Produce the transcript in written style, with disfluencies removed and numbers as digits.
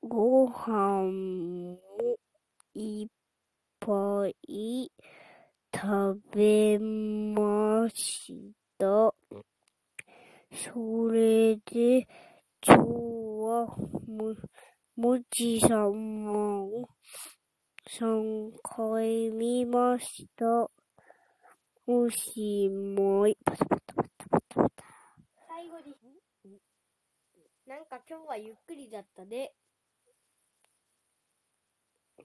ご飯もいっぱい食べました。それで、今日はもちさまを3回見ました。おしまい。 最後に、なんか今日はゆっくりだったね。